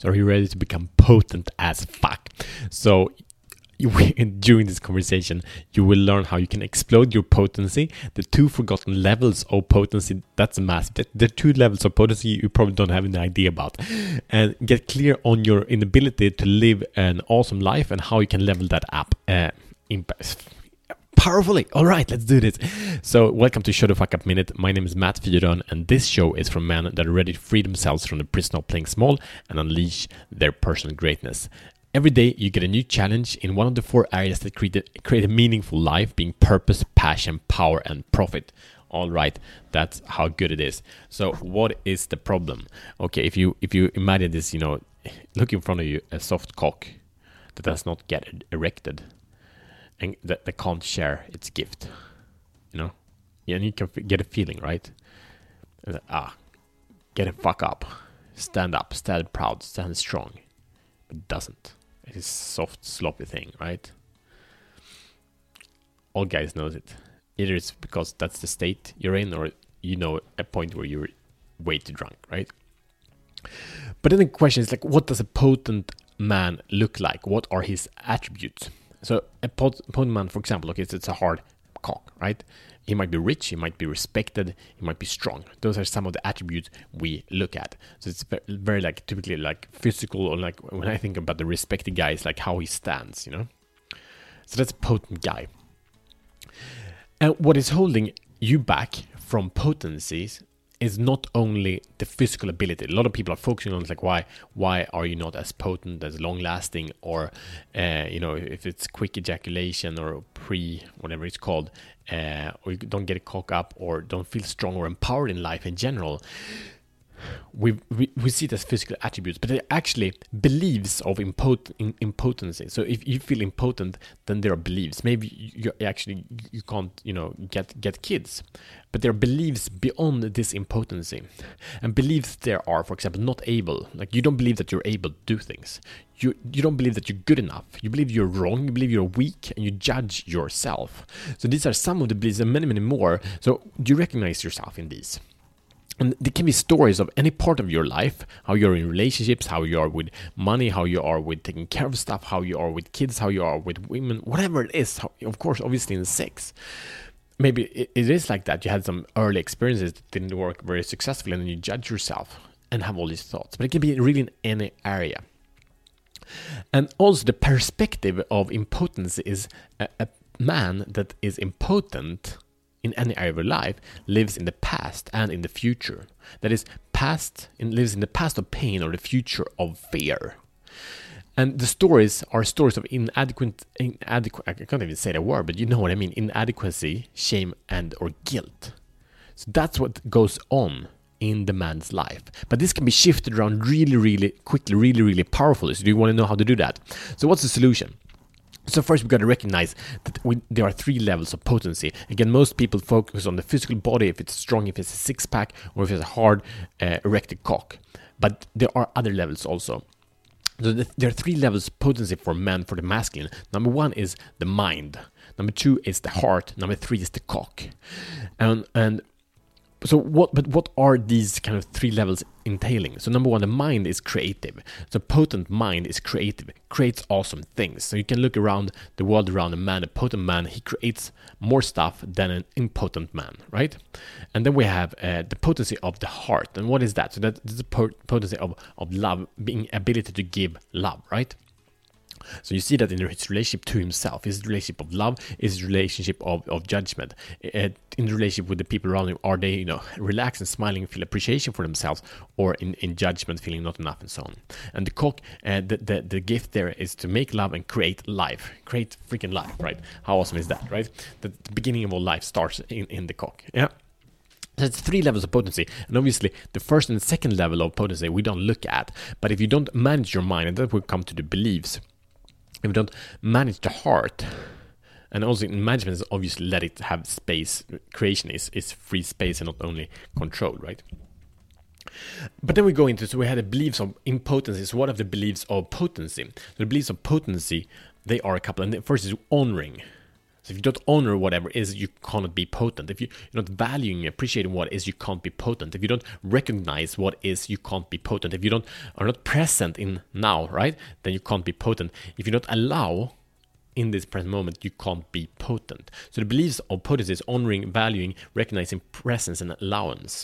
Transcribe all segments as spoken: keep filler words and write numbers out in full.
So are you ready to become potent as fuck? So you, during this conversation, you will learn how you can explode your potency. The two forgotten levels of potency, that's massive. The two levels of potency you probably don't have any idea about. And get clear on your inability to live an awesome life and how you can level that up. Uh, Powerfully. All right, let's do this. So welcome to Show the Fuck Up Minute. My name is Matt Fyrön, and this show is for men that are ready to free themselves from the prison of playing small and unleash their personal greatness. Every day you get a new challenge in one of the four areas that create a, create a meaningful life, being purpose, passion, power, and profit. All right, that's how good it is. So what is the problem? Okay, if you if you imagine this, you know, look in front of you, a soft cock that does not get erected and that, that can't share its gift, you know? Yeah, and you can f- get a feeling, right? Ah, get a fuck up. Stand up, stand proud, stand strong. But it doesn't. It is soft, sloppy thing, right? All guys knows it. Either it's because that's the state you're in, or you know a point where you're way too drunk, right? But then the question is like, what does a potent man look like? What are his attributes? So a pot- potent man, for example, okay, it's, it's a hard cock, right? He might be rich, he might be respected, he might be strong. Those are some of the attributes we look at. So it's very, very like typically like physical, or like when I think about the respected guy, it's like how he stands, you know? So that's a potent guy. And what is holding you back from potencies is not only the physical ability. A lot of people are focusing on like, why why are you not as potent, as long lasting, or uh, you know, if it's quick ejaculation or pre whatever it's called, uh, or you don't get a cock up, or don't feel strong or empowered in life in general. We, we we see it as physical attributes, but they're actually beliefs of impot- in, impotency. So if you feel impotent, then there are beliefs. Maybe you, you actually you can't you know get get kids, but there are beliefs beyond this impotency. And beliefs there are, for example, not able. Like you don't believe that you're able to do things. You you don't believe that you're good enough. You believe you're wrong. You believe you're weak, and you judge yourself. So these are some of the beliefs, and many many more. So do you recognize yourself in these? And there can be stories of any part of your life, how you're in relationships, how you are with money, how you are with taking care of stuff, how you are with kids, how you are with women, whatever it is. How, of course, obviously in sex. Maybe it, it is like that. You had some early experiences that didn't work very successfully, and then you judge yourself and have all these thoughts. But it can be really in any area. And also the perspective of impotence is a, a man that is impotent in any area of your life lives in the past and in the future. That is, past in, lives in the past of pain or the future of fear. And the stories are stories of inadequate, inadequate, I can't even say the word, but you know what I mean, inadequacy, shame, and or guilt. So that's what goes on in the man's life. But this can be shifted around really, really quickly, really, really powerfully. So do you want to know how to do that? So what's the solution? So first, we've got to recognize that we, there are three levels of potency. Again, most people focus on the physical body, if it's strong, if it's a six-pack, or if it's a hard, uh, erected cock. But there are other levels also. So the, there are three levels of potency for men, for the masculine. Number one is the mind. Number two is the heart. Number three is the cock. And and So what, but what are these kind of three levels entailing? So number one, the mind is creative. So potent mind is creative, creates awesome things. So you can look around the world around a man, a potent man, he creates more stuff than an impotent man, right? And then we have uh, the potency of the heart. And what is that? So that, that's the potency of, of love, being ability to give love, right? So you see that in his relationship to himself, his relationship of love, his relationship of, of judgment, uh, in the relationship with the people around him. Are they, you know, relaxed and smiling, feel appreciation for themselves, or in, in judgment, feeling not enough, and so on. And the cock, uh, the, the the gift there is to make love and create life, create freaking life, right? How awesome is that, right? The, the beginning of all life starts in, in the cock, yeah. So it's three levels of potency, and obviously the first and second level of potency we don't look at. But if you don't manage your mind, and that will come to the beliefs. If you don't manage the heart, and also in management is obviously let it have space. Creation is, is free space and not only control, right? But then we go into, so we had the beliefs of impotency. So what are the beliefs of potency? So the beliefs of potency, they are a couple. And the first is honoring. So if you don't honor whatever is, you cannot be potent. If you, you're not valuing, appreciating what is, you can't be potent. If you don't recognize what is, you can't be potent. If you don't are not present in now, right, then you can't be potent. If you don't allow in this present moment, you can't be potent. So the beliefs of potency is honoring, valuing, recognizing presence and allowance.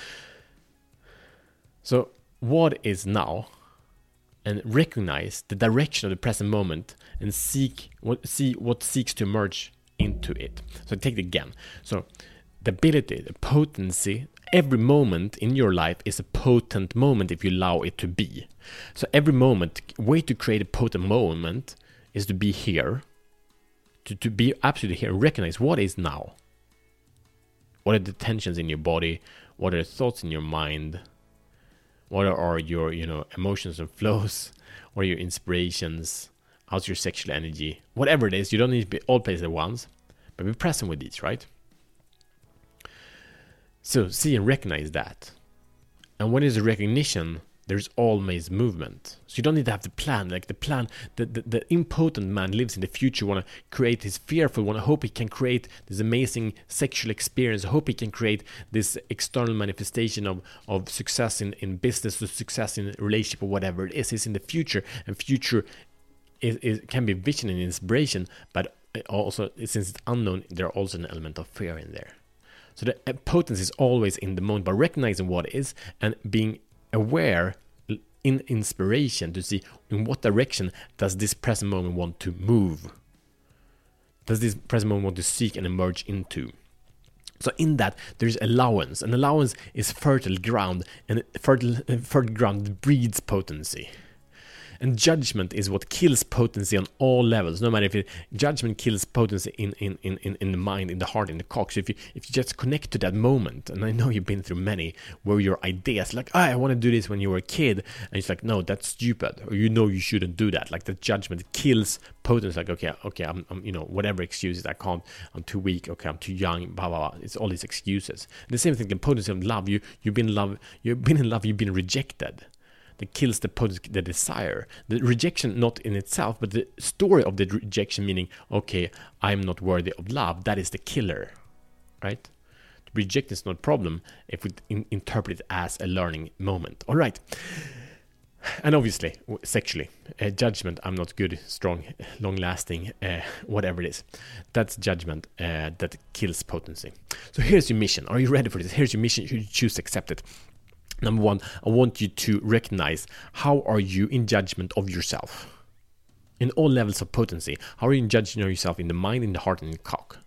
So what is now? And recognize the direction of the present moment and seek what see what seeks to emerge into it. So take it again. So the ability, the potency, every moment in your life is a potent moment if you allow it to be. So every moment, way to create a potent moment is to be here, to, to be absolutely here, recognize what is now. What are the tensions in your body? What are the thoughts in your mind? What are your, you know, emotions and flows? What are your inspirations? How's your sexual energy? Whatever it is, you don't need to be all places at once, but be present with these, right? So see and recognize that. And when there's a recognition, there's always movement. So you don't need to have the plan. Like the plan, the, the, the impotent man lives in the future, want to create his fearful, want to hope he can create this amazing sexual experience, hope he can create this external manifestation of, of success in, in business or success in relationship or whatever it is. It's in the future, and future is, is, can be vision and inspiration, but also since it's unknown, there's also an element of fear in there. So the potency is always in the moment, by recognizing what is and being aware in inspiration to see in what direction does this present moment want to move, does this present moment want to seek and emerge into. So in that there's allowance, and allowance is fertile ground, and fertile, fertile ground breeds potency. And judgment is what kills potency on all levels. No matter if it, judgment kills potency in, in, in, in the mind, in the heart, in the cock. So if you if you just connect to that moment, and I know you've been through many where your ideas like, oh, I want to do this when you were a kid, and it's like, no, that's stupid, or you know you shouldn't do that. Like the judgment kills potency. Like, okay, okay, I'm, I'm you know whatever excuses, I can't, I'm too weak, okay, I'm too young, blah blah blah. It's all these excuses. And the same thing, the potency of love. You you've been in love, you've been in love, you've been rejected. That kills the potency, the desire. The rejection not in itself, but the story of the rejection, meaning, okay, I'm not worthy of love, that is the killer, right? To reject is not a problem if we in- interpret it as a learning moment. All right. And obviously, sexually, uh, judgment, I'm not good, strong, long-lasting, uh, whatever it is. That's judgment uh, that kills potency. So here's your mission. Are you ready for this? Here's your mission. You choose to accept it. Number one, I want you to recognize, how are you in judgment of yourself? In all levels of potency, how are you in judging of yourself in the mind, in the heart, and in the cock?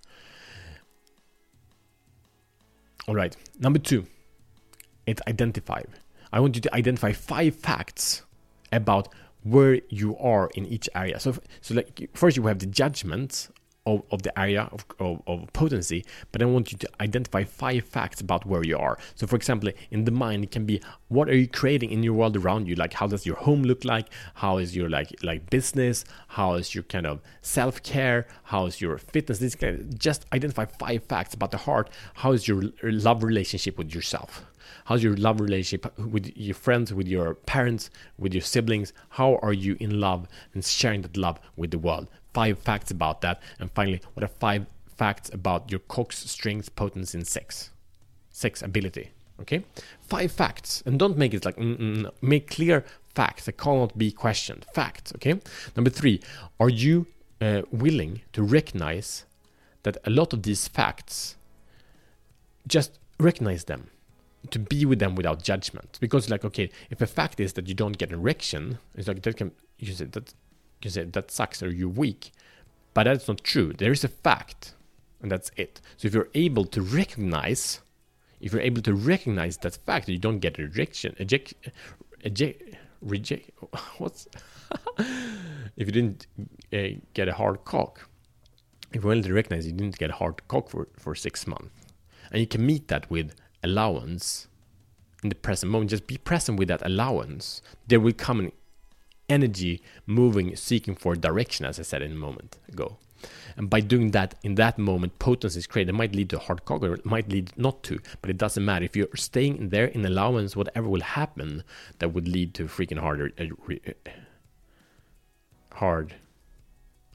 All right. Number two, it's identify. I want you to identify five facts about where you are in each area. So, so like first you have the judgment Of, of the area of, of, of potency, but I want you to identify five facts about where you are. So for example, in the mind, it can be, what are you creating in your world around you? Like, how does your home look like? How is your like like business? How is your kind of self-care? How is your fitness? This kind of, just identify five facts about the heart. How is your love relationship with yourself? How's your love relationship with your friends, with your parents, with your siblings? How are you in love and sharing that love with the world? Five facts about that. And finally, what are five facts about your cock's strength, potency, and sex? Sex ability. Okay? Five facts. And don't make it like, mm-mm. Make clear facts that cannot be questioned. Facts. Okay? Number three, are you uh, willing to recognize that a lot of these facts, just recognize them, to be with them without judgment? Because like, okay, if a fact is that you don't get an erection, it's like, that can, you say that, you say that sucks, or you're weak, but that's not true. There is a fact, and that's it. So if you're able to recognize, if you're able to recognize that fact, that you don't get an erection, eject, eject, reject, what's, if you didn't uh, get a hard cock, if you're able to recognize you didn't get a hard cock for, for six months, and you can meet that with allowance in the present moment, just be present with that allowance, there will come an energy moving, seeking for direction, as I said in a moment ago. And by doing that, in that moment, potency is created. It might lead to a hard cock, or it might lead not to, but it doesn't matter. If you're staying in there in allowance, whatever will happen, that would lead to freaking harder, uh, hard,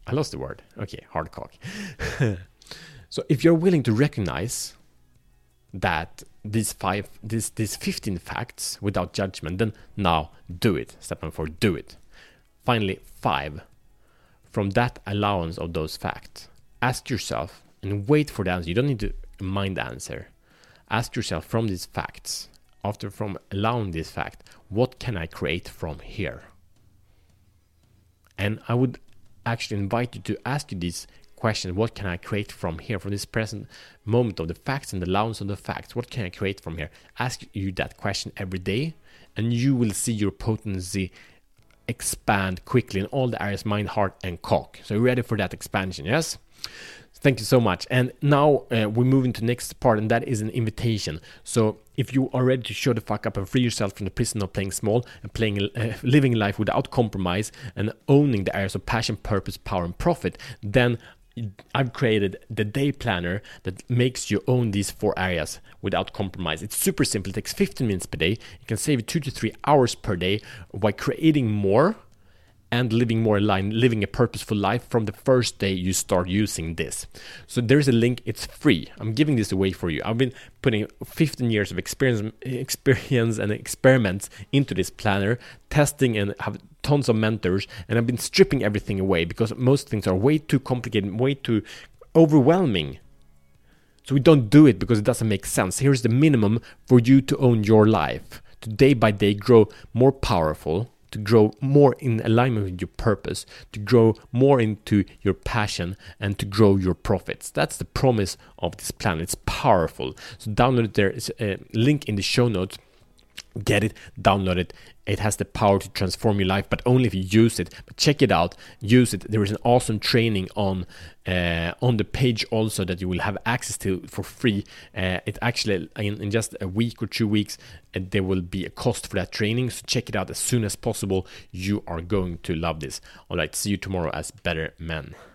I lost the word. Okay, hard cock. So if you're willing to recognize that these five, these these fifteen facts without judgment, then now do it. Step number four, do it. Finally, five. From that allowance of those facts, ask yourself and wait for the answer. You don't need to mind the answer. Ask yourself from these facts, after from allowing this fact, what can I create from here? And I would actually invite you to ask you these questions. What can I create from here, from this present moment of the facts and the allowance of the facts? What can I create from here? Ask you that question every day, and you will see your potency expand quickly in all the areas, mind, heart, and cock. So you're ready for that expansion, yes? Thank you so much. And now uh, we move into the next part, and that is an invitation. So if you are ready to show the fuck up and free yourself from the prison of playing small and playing, uh, living life without compromise and owning the areas of passion, purpose, power, and profit, then I've created the day planner that makes you own these four areas without compromise. It's super simple. It takes fifteen minutes per day. You can save two to three hours per day by creating more and living more aligned, living a purposeful life from the first day you start using this. So there's a link. It's free. I'm giving this away for you. I've been putting fifteen years of experience, experience and experiments into this planner, testing, and have tons of mentors, and I've been stripping everything away because most things are way too complicated, way too overwhelming. So we don't do it because it doesn't make sense. Here's the minimum for you to own your life, to day by day grow more powerful, to grow more in alignment with your purpose, to grow more into your passion, and to grow your profits. That's the promise of this plan. It's powerful. So download it. There is a link in the show notes. Get it, download it. It has the power to transform your life, but only if you use it. But check it out, use it. There is an awesome training on uh, on the page also that you will have access to for free. Uh, it actually in, in just a week or two weeks, uh, there will be a cost for that training. So check it out as soon as possible. You are going to love this. All right, see you tomorrow as better men.